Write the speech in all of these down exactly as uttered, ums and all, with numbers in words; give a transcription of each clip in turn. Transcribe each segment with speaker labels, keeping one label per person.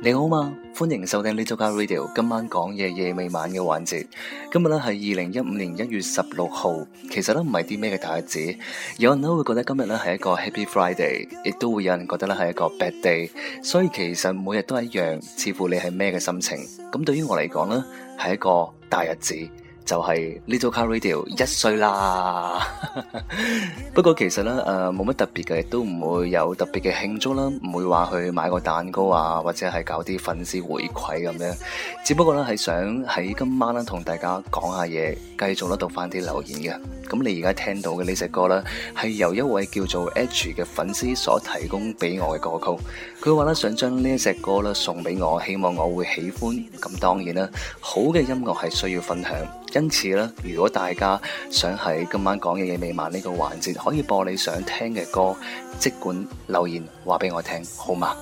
Speaker 1: 你好嘛，歡迎收聽 Little Car Radio， 今晚講嘢夜未晚嘅環節。今日咧係二零一五年一月十六號，其實咧唔係啲咩嘅大日子，有人咧會覺得今日咧係一個 Happy Friday， 亦都會有人覺得咧係一個 Bad Day， 所以其實每日都係一樣，似乎你係咩嘅心情。咁對於我嚟講咧，係一個大日子。就係 Little Car Radio 一歲啦，不過其實咧誒冇乜特別嘅，亦都唔會有特別嘅慶祝啦，唔會話去買個蛋糕啊，或者係搞啲粉絲回饋咁樣，只不過咧係想喺今晚咧同大家講下嘢，繼續咧讀翻啲留言嘅。咁你而家聽到嘅呢隻歌咧，係由一位叫做 H 嘅粉絲所提供俾我嘅歌曲。佢話咧想將呢一隻歌咧送俾我，希望我會喜歡。咁當然啦，好嘅音樂係需要分享。因此咧，如果大家想喺今晚講嘢夜未晚呢個環節可以播你想聽嘅歌，即管留言話俾我聽，好嗎？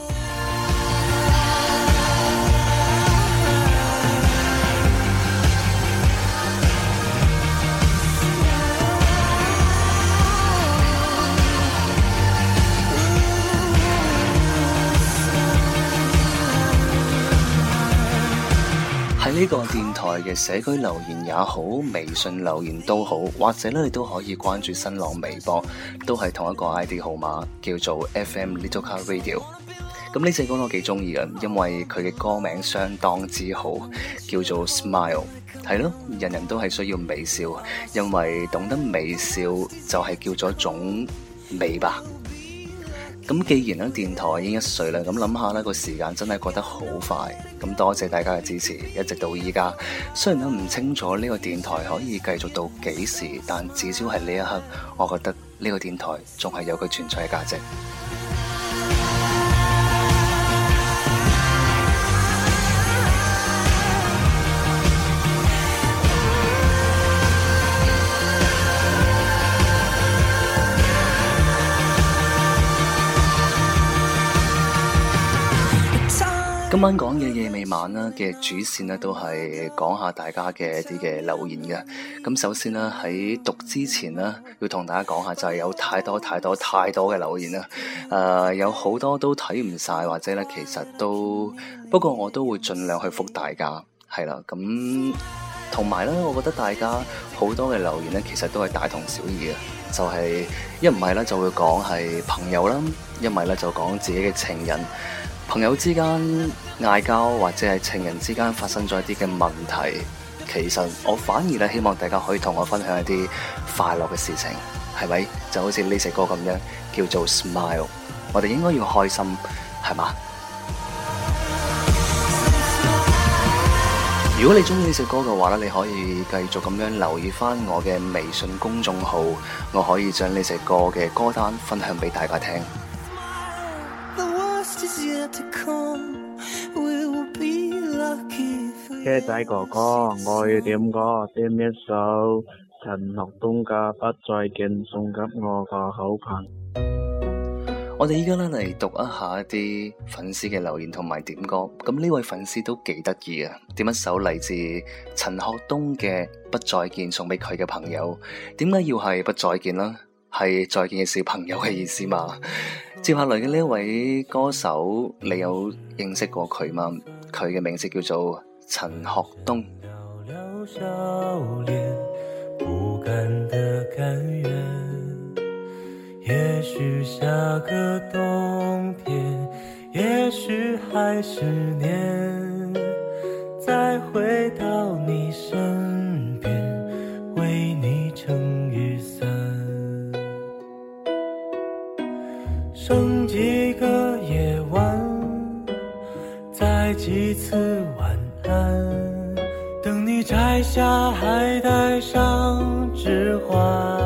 Speaker 1: 喺呢個電台嘅社區留言也好，微信留言都好，或者咧你都可以關注新浪微博，都係同一個 I D 號碼，叫做 F M Little Car Radio。咁呢隻歌我幾中意嘅，因為佢嘅歌名相當之好，叫做 Smile。係咯，人人都係需要微笑，因為懂得微笑就係叫做一種美吧。咁既然咧電台已經一歲啦，咁諗下呢個時間真係過得好快。咁多謝大家嘅支持，一直到依家。雖然都唔清楚呢個電台可以繼續到幾時，但至少係呢一刻，我覺得呢個電台仲係有佢存在嘅價值。今晚講嘅夜未晚啦嘅主線呢，都係講下大家嘅一啲嘅留言嘅。咁首先呢，喺讀之前呢，要同大家講下就係有太多太多太多嘅留言啦。誒、呃，有好多都睇唔晒，或者咧其實都，不過我都會盡量去覆大家，係啦。咁同埋咧，我覺得大家好多嘅留言咧，其實都係大同小異嘅，就係一唔係咧就會講係朋友啦，一唔係咧就講自己嘅情人。朋友之間嗌交，或者係情人之間發生咗一啲嘅問題，其實我反而咧希望大家可以同我分享一啲快樂嘅事情，係咪？就好似呢隻歌咁樣，叫做 Smile， 我哋應該要開心，係嘛？如果你中意呢隻歌嘅話咧，你可以繼續咁樣留意翻我嘅微信公眾號，我可以將呢隻歌嘅歌單分享俾大家聽。
Speaker 2: 車仔哥哥，我要點歌，點一首陳學冬嘅《不再見》送給我個好朋友。
Speaker 1: 我哋依家咧嚟讀一下一啲粉絲嘅留言同埋點歌。咁呢位粉絲都幾得意啊，點一首嚟自陳學冬嘅《不再見》送俾佢嘅朋友。點解要係不再見啦？係再見嘅小朋友嘅意思嘛？接下來嘅呢一位歌手，你有認識過佢嗎？佢嘅名字叫做陳學冬。
Speaker 3: 寥寥笑臉，不甘的甘願，也許下個冬天，也許還是年，再回到你身邊，為你撐雨傘，剩幾個夜晚，再幾次晚安，等你摘下還帶上指環，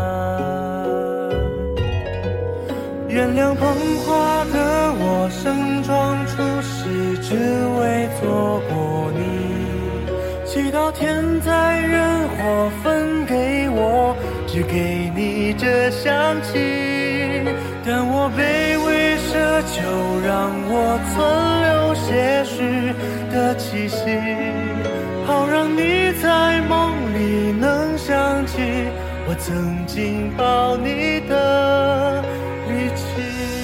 Speaker 3: 原諒捧花的我盛裝出席，只為錯過你，祈禱天災人禍分給我，只給你這香氣，但我卑微奢求，讓我存留些許的氣息，好讓你在夢裡能想起我曾經抱你的力氣。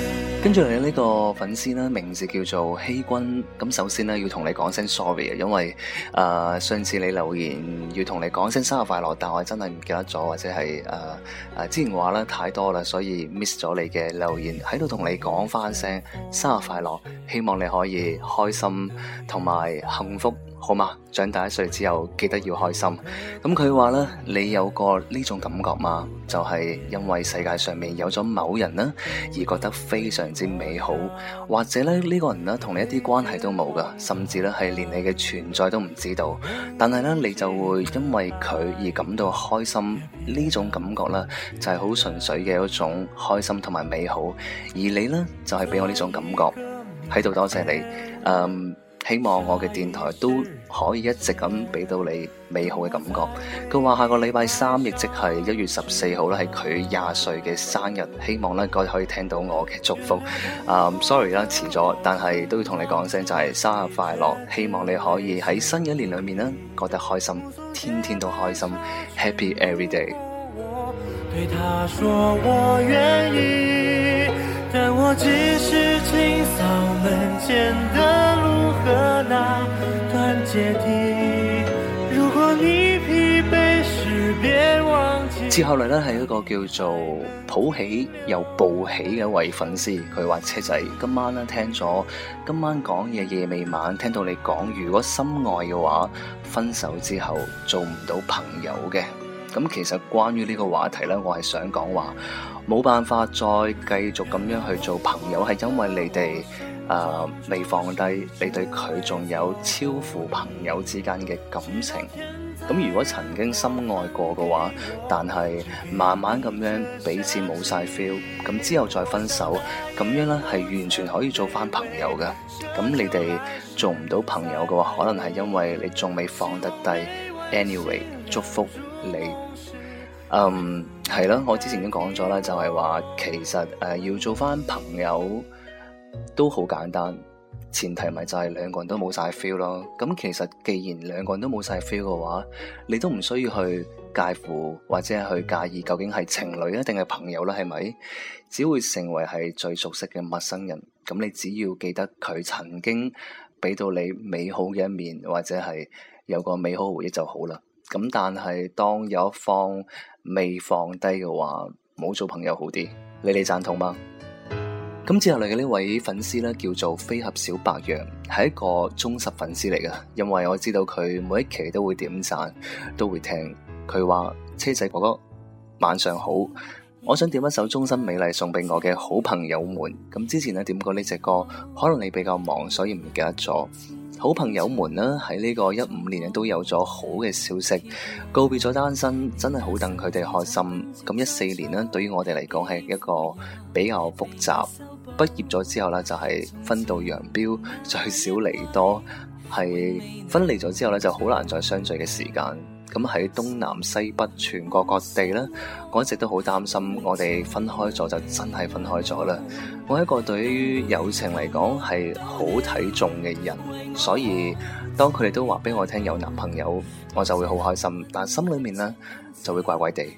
Speaker 1: 跟住嚟呢個粉絲呢，名字叫做希君。咁首先呢，要同你講聲 sorry 啊，因為誒、呃、上次你留言要同你講聲生日快樂，但我真係唔記得咗，或者係誒誒之前話咧太多啦，所以 miss 咗你嘅留言，喺度同你講翻聲生日快樂，希望你可以開心同埋幸福。好嘛，長大一歲之後記得要開心。咁佢話咧，你有過呢種感覺嗎？就係因為世界上面有咗某人啦，而覺得非常之美好，或者咧呢個人咧同你一啲關係都冇噶，甚至咧係連你嘅存在都唔知道，但係咧你就會因為佢而感到開心。呢種感覺咧就係好純粹嘅一種開心同埋美好，而你咧就係俾我呢種感覺喺度。多謝你，嗯。希望我嘅電台都可以一直咁俾到你美好嘅感覺。佢話下個禮拜三，亦即係一月十四號咧，係佢廿歲嘅生日。希望咧，各位可以聽到我嘅祝福。啊、um, ，sorry 啦，遲咗，但係都要同你講聲就係生日快樂。希望你可以喺新嘅一年裏面咧，覺得開心，天天都開心 ，Happy every day。
Speaker 3: 對他說我願意，但我只是清掃門前的路和那段階梯。如果你疲憊時別忘記。
Speaker 1: 接下來咧係一個叫做抱喜又報喜嘅一位粉絲，佢話車仔今晚咧聽咗今晚講嘢夜未晚，聽到你講如果深愛嘅話，分手之後做唔到朋友嘅。咁其實關於呢個話題呢，我係想講話冇辦法再繼續咁樣去做朋友，係因為你哋誒未放低，你對佢仲有超乎朋友之間嘅感情。咁如果曾經深愛過嘅話，但係慢慢咁樣彼此冇晒 feel， 咁之後再分手，咁樣呢係完全可以做翻朋友嘅。咁你哋做唔到朋友嘅話，可能係因為你仲未放得低。Anyway， 祝福你。嗯，係啦，我之前已經講咗啦，就係話其實誒、呃、要做翻朋友都好簡單，前提咪就係兩個人都冇晒 feel 咯。咁其實既然兩個人都冇晒 feel 嘅話，你都唔需要去介乎或者係去介意究竟係情侶啊定係朋友啦，係咪？只會成為係最熟悉嘅陌生人。咁你只要記得佢曾經俾到你美好嘅一面，或者係有個美好回憶就好啦。咁但係當有一方未放低嘅話，冇做朋友好啲，你哋贊同嗎？咁之後嚟嘅呢位粉絲咧叫做飛俠小白羊，係一個忠實粉絲嚟嘅，因為我知道佢每一期都會點讚，都會聽。佢話車仔哥哥晚上好，我想點一首終身美麗送俾我嘅好朋友們。咁之前咧點過呢隻歌，可能你比較忙，所以唔記得咗。好朋友們呢，喺呢個一五年都有咗好嘅消息，告別咗單身，真係好等佢哋開心。咁一四年呢，對於我哋嚟講係一個比較複雜。畢業咗之後呢，就係分道揚鑣，聚少離多，係分離咗之後呢，就好難再相聚嘅時間。咁喺東南西北全國各地咧，我一直都好擔心我哋分開咗就真係分開咗啦。我係一個對於友情嚟講係好睇重嘅人，所以當佢哋都話俾我聽有男朋友，我就會好開心，但心裏面咧就會怪怪地。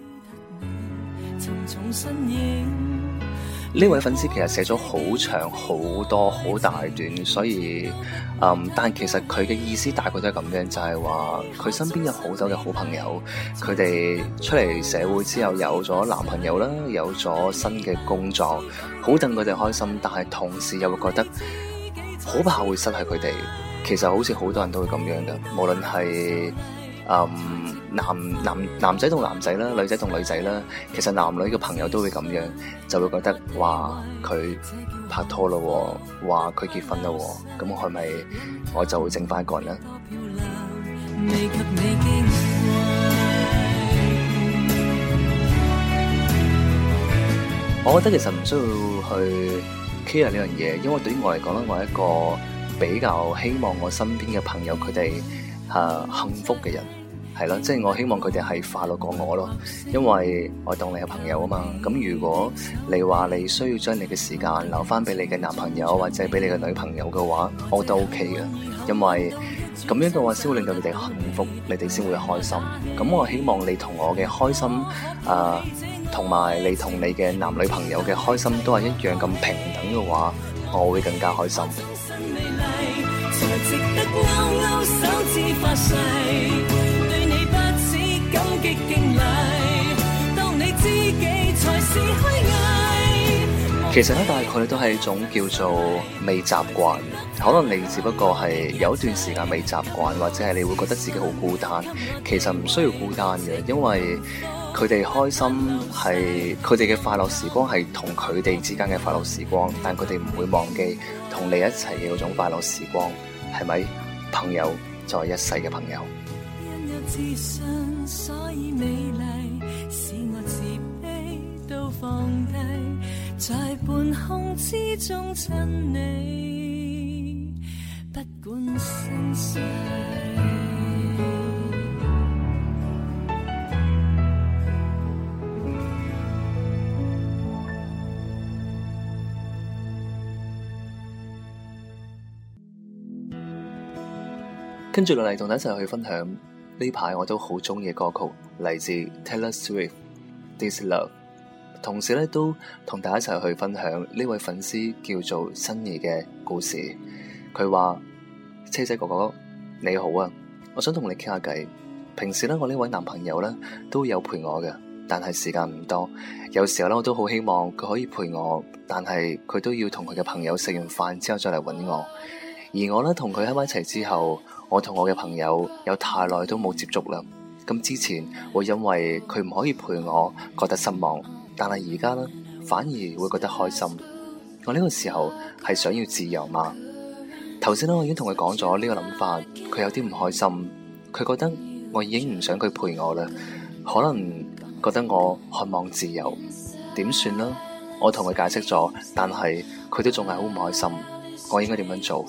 Speaker 1: 呢位粉絲其實寫咗好長好多好大段，所以嗯，但其實佢嘅意思大概都係咁樣，就係話佢身邊有好多嘅好朋友，佢哋出嚟社會之後有咗男朋友啦，有咗新嘅工作，好戥佢哋開心，但係同時又會覺得好怕會失去佢哋。其實好似好多人都會咁樣嘅，無論係嗯男男男仔同男仔啦，女仔同女仔啦，其實男女嘅朋友都會咁樣，就會覺得哇佢拍拖咯，哇佢結婚咯，咁係咪我就會剩翻一個人咧？我覺得其實唔需要去 care 呢樣嘢，因為對於我嚟講咧，我係一個比較希望我身邊嘅朋友佢哋係幸福嘅人。係咯，即係我希望佢哋係快樂過我咯，因為我當你係朋友啊嘛。咁如果你話你需要將你嘅時間留翻俾你嘅男朋友或者俾你嘅女朋友嘅話，我都 OK 嘅，因為咁樣嘅話先會令到你哋幸福，你哋先會開心。咁我希望你同我嘅開心啊、呃、 同埋你同你嘅男女朋友嘅開心都係一樣咁平等嘅話，我會更加開心。其實咧，大概都係一種叫做未習慣，可能你只不過係有一段時間未習慣，或者係你會覺得自己好孤單。其實唔需要孤單嘅，因為佢哋開心係佢哋嘅快樂時光，係同佢哋之間嘅快樂時光，但佢哋唔會忘記同你一齊嘅嗰種快樂時光，係咪？朋友就係一世嘅朋友。
Speaker 4: 因有自信，所以美麗，使我自卑都放低，在半空之中親你，不管生死。
Speaker 1: 跟住落嚟同大家一齊去分享呢排我都好中意嘅歌曲，嚟自 Taylor Swift This Love。同時咧都同大家一齊去分享呢位粉絲叫做新怡嘅故事。佢話：車仔哥哥你好啊，我想同你傾下偈。平時咧我呢位男朋友咧都有陪我嘅，但係時間唔多。有時候咧我都好希望佢可以陪我，但係佢都要同佢嘅朋友食完飯之後再嚟搵我。而我咧同佢喺埋一齊之後，我同我嘅朋友有太耐都冇接觸啦。咁之前會因為佢唔可以陪我覺得失望，但係而家咧反而會覺得開心。我呢個時候係想要自由嘛？頭先咧我已經同佢講咗呢個諗法，佢有啲唔開心，佢覺得我已經唔想佢陪我啦，可能覺得我渴望自由，點算呢？我同佢解釋咗，但係佢都仲係好唔開心，我應該點樣做？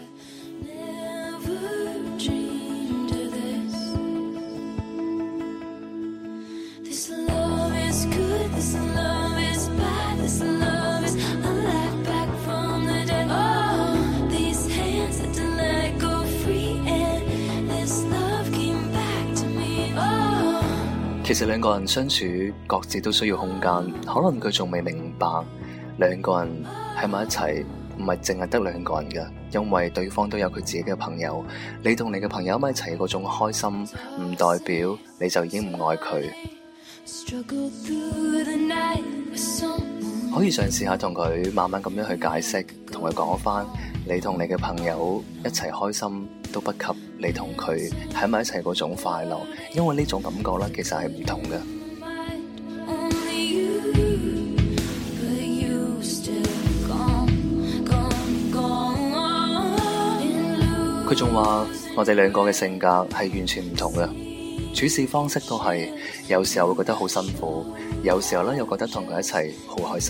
Speaker 1: 其實兩個人相處各自都需要空間，可能佢仲未明白兩個人喺埋一齊唔係淨係得兩個人嘅，因為對方都有佢自己嘅朋友。你同你嘅朋友喺埋一齊嗰種開心，唔代表你就已經唔愛佢。可以嘗試下同佢慢慢咁樣去解釋，同佢講翻你同你嘅朋友一齊開心都不及你同佢喺埋一齊嗰種快樂，因為呢種感覺咧其實係唔同嘅。佢仲話我哋兩個嘅性格係完全唔同嘅，處事方式都係，有時候會覺得好辛苦，有時候咧又覺得同佢一齊好開心。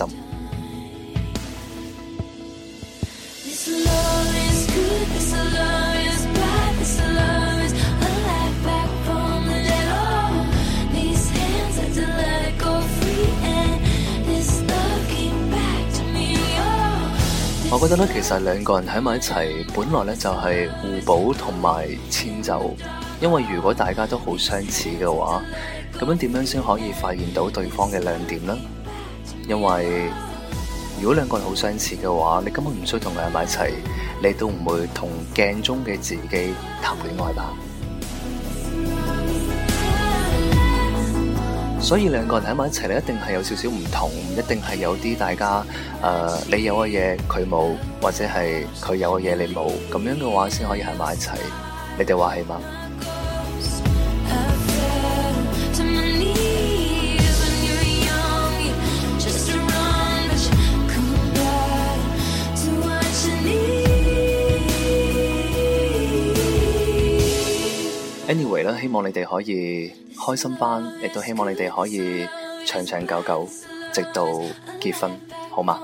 Speaker 1: 我覺得咧，其實兩個人喺埋一齊，本來咧就係互補同埋遷就。因為如果大家都好相似嘅話，咁樣點樣先可以發現到對方嘅亮點呢？因為如果兩個人好相似嘅話，你根本唔需要同佢喺埋一齊，你都唔會同鏡中嘅自己談戀愛吧。所以兩個人喺埋一齊咧，一定係有少少唔同，一定係有啲大家誒、呃，你有嘅嘢佢冇，或者係佢有嘅嘢你冇，咁樣嘅話先可以喺埋一齊。你哋話係嗎？Anyway 啦，希望你哋可以開心翻，亦都希望你哋可以長長久久，直到結婚，好嗎？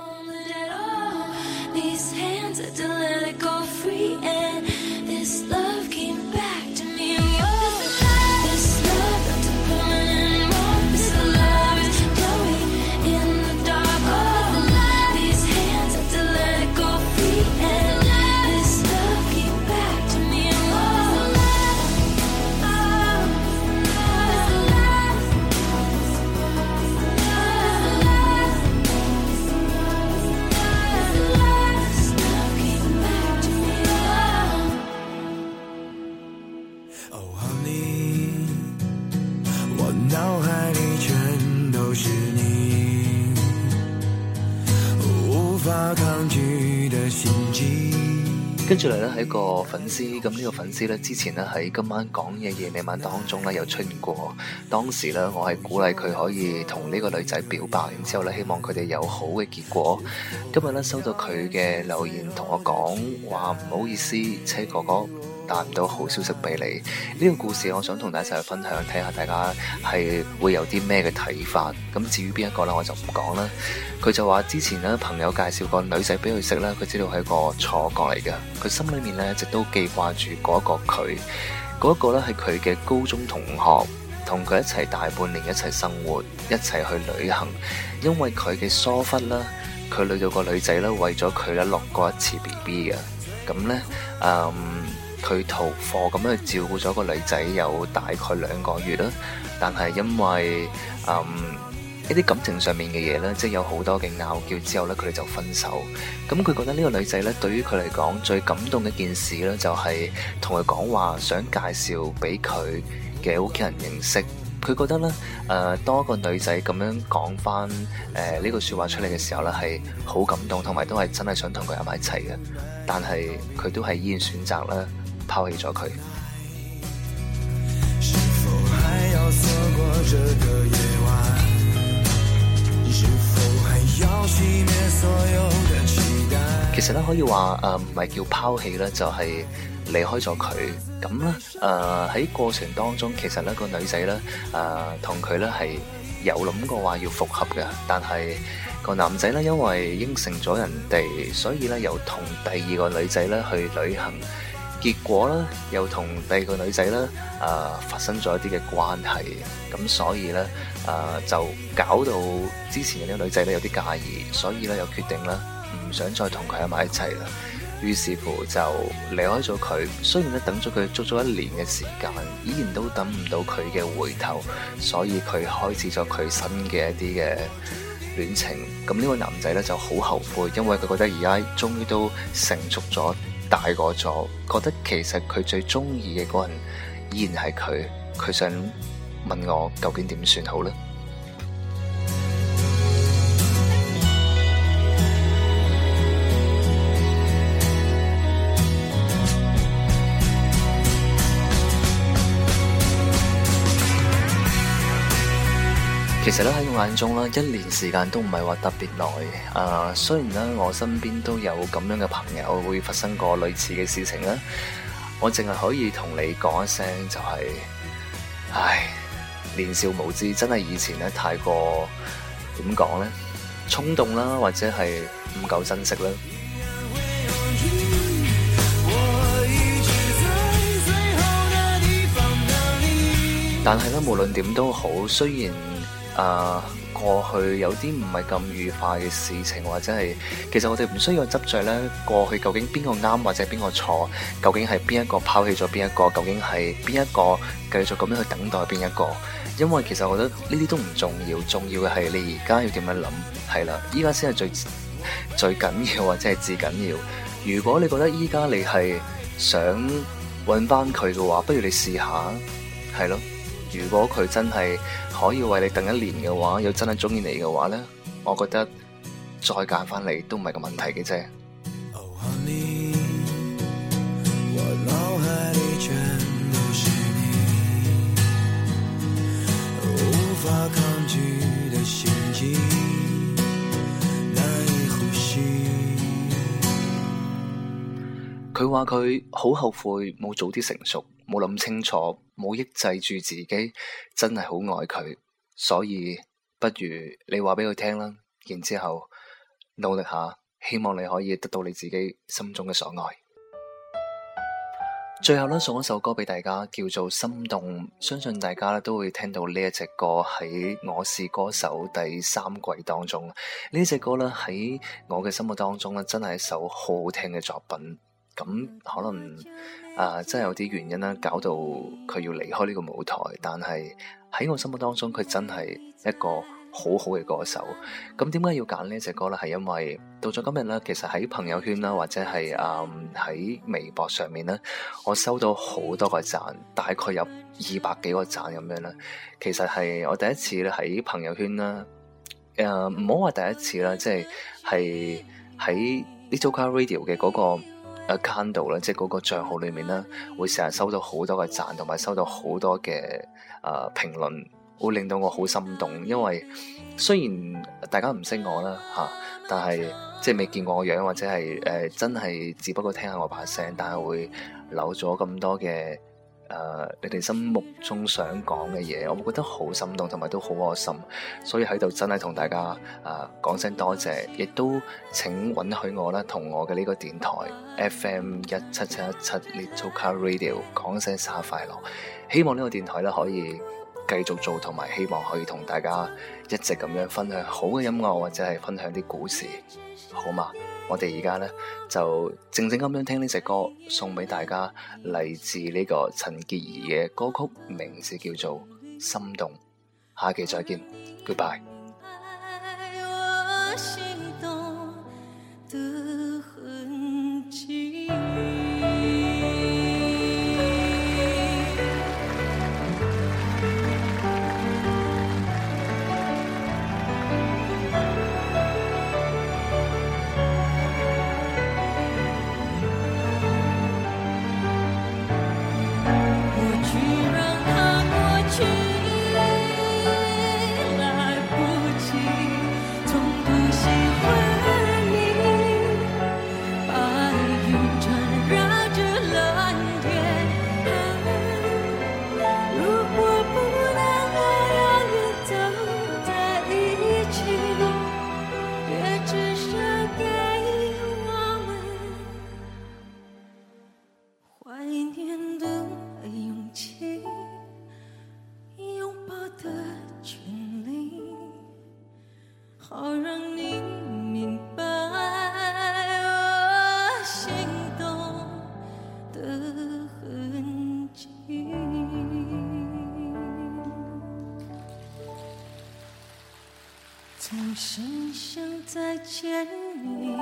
Speaker 3: 法抗拒的心悸。
Speaker 1: 跟住嚟咧係一個粉絲，咁呢個粉絲咧之前咧喺今晚講嘢夜未晚當中咧有出現過，當時咧我係鼓勵佢可以同呢個女仔表白，然之後咧希望佢哋有好嘅結果。今日咧收到佢嘅留言同我講話唔好意思，車哥哥帶唔到好消息俾你。呢個故事我想同大家一齊去分享，睇下大家係會有啲咩嘅睇法。咁至於邊一個咧我就唔講啦。佢就話之前咧朋友介紹個女仔俾佢識啦，佢知道係個錯覺嚟嘅，佢心裏面咧一直都記掛住嗰一個佢，嗰一個咧係佢嘅高中同學，同佢一齊大半年，一齊生活，一齊去旅行。因為佢嘅疏忽啦，佢累到個女仔咧為咗佢咧落過一次 B B 嘅，咁咧嗯。佢逃課咁樣去照顧咗個女仔有大概兩個月啦，但係因為嗯一啲感情上面嘅嘢咧，即係有好多嘅拗撬之後咧，佢哋就分手。咁佢覺得呢個女仔咧，對於佢嚟講最感動嘅一件事咧，就係同佢講話想介紹俾佢嘅屋企人認識。佢覺得咧，誒、呃，當一個女仔咁樣講翻誒呢句説話出嚟嘅時候咧，係好感動，同埋都係真係想同佢喺埋一齊嘅。但係佢都係依然選擇咧拋棄咗佢。
Speaker 3: 是否還要錯過這個夜晚？是否還要熄滅所有的期待？
Speaker 1: 其實咧可以話誒唔係叫拋棄咧，就係、是、離開咗佢。咁咧誒喺過程當中，其實咧個女仔咧誒同佢咧係有諗過話要復合嘅，但係個男仔咧因為應承咗人哋，所以咧又同第二個女仔咧去旅行。結果咧，又同第二個女仔咧，誒、呃、發生咗一啲嘅關係，咁所以咧，誒、呃、就搞到之前嘅呢個女仔咧有啲介意，所以咧又決定咧唔想再同佢喺埋一齊啦。於是乎就離開咗佢。雖然咧等咗佢足足一年嘅時間，依然都等唔到佢嘅回頭，所以佢開始咗佢新嘅一啲嘅戀情。咁呢個男仔咧就好後悔，因為佢覺得而家終於都成熟咗。大個咗，覺得其實佢最中意嘅嗰人依然係佢，佢想問我究竟點算好呢？其實咧喺我眼中咧，一年時間都唔係話特別耐。誒、呃，雖然咧我身邊都有咁樣嘅朋友會發生過類似嘅事情咧，我淨係可以同你講一聲就係、是，唉，年少無知，真係以前咧太過點講咧，衝動啦，或者係唔夠珍惜啦。但係咧，無論點都好，雖然誒、uh, 過去有啲唔係咁愉快嘅事情，或者係其實我哋唔需要執着咧過去究竟邊個啱或者邊個錯，究竟係邊一個拋棄咗邊一個，究竟係邊一個繼續咁樣去等待邊一個。因為其實我覺得呢啲都唔重要，重要嘅係你而家要點樣諗。係啦，依家先係最最緊要或者係至緊要。如果你覺得依家你係想揾翻佢嘅話，不如你試下，係咯。如果佢真係可以為你等一年嘅話，又真係中意你嘅話呢，我覺得再揀翻你都唔係個問題嘅啫。佢話佢好後悔冇早啲成熟，冇諗清楚，冇抑制住自己，真係好愛佢，所以不如你話俾佢聽啦，然之後努力下，希望你可以得到你自己心中嘅所愛。最後咧，送一首歌俾大家，叫做《心動》，相信大家咧都會聽到呢一隻歌喺《我是歌手》第三季當中。呢隻歌咧喺我嘅心目當中咧，真係一首好好聽嘅作品。咁可能啊、呃，真係有啲原因啦，搞到佢要離開呢個舞台。但係喺我心目當中，佢真係一個好好嘅歌手。咁點解要揀呢隻歌呢？係因為到咗今日咧，其實喺朋友圈啦，或者係啊喺微博上面咧，我收到好多個讚，大概有二百幾個讚咁樣啦。其實係我第一次咧喺朋友圈啦，誒唔好話第一次啦，即係係。 喺 Little Car Radio 嘅嗰個 account 度咧，即係嗰個帳號裏面咧，會成日收到好多嘅讚，同埋收到好多嘅誒、呃、評論，會令到我好心動。因為雖然大家唔識我啦嚇、啊，但係即係未見過我樣，或者係誒、呃、真係只不過聽下我把聲，但係會留咗咁多嘅。誒、呃，你哋心目中想講嘅嘢，我會覺得好心動，同埋都好開心，所以喺度真係同大家誒講聲多謝，亦都請允許我啦，同我嘅呢個電台 F M 一七七一七 Little Car Radio 講聲生日快樂，希望呢個電台咧可以繼續做，同埋希望可以同大家一直咁樣分享好嘅音樂，或者係分享啲故事，好嘛？我哋而家咧就靜靜咁樣聽呢隻歌，送俾大家，嚟自呢個陳潔儀嘅歌曲，名字叫做《心動》。下期再見 ，Goodbye。
Speaker 4: 总是想再见你，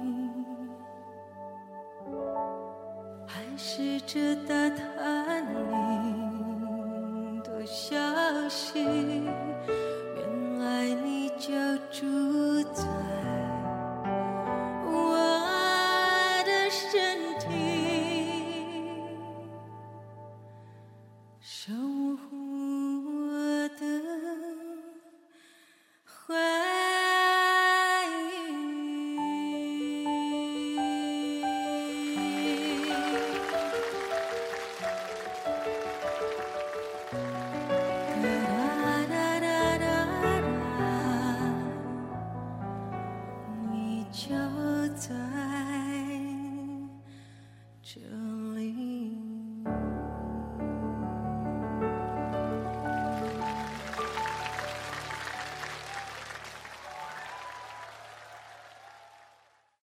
Speaker 4: 还试着打探你的消息，原来你就住在我的身体，守护我的回忆，你就在